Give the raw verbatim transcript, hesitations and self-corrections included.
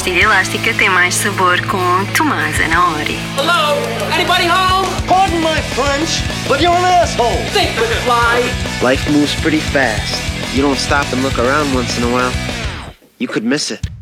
pastilha elástica tem mais sabor com Tomás Anaori. Hello? Anybody home? Pardon my French, but you're an asshole. Think with fly. Life moves pretty fast. You don't stop and look around once in a while, you could miss it.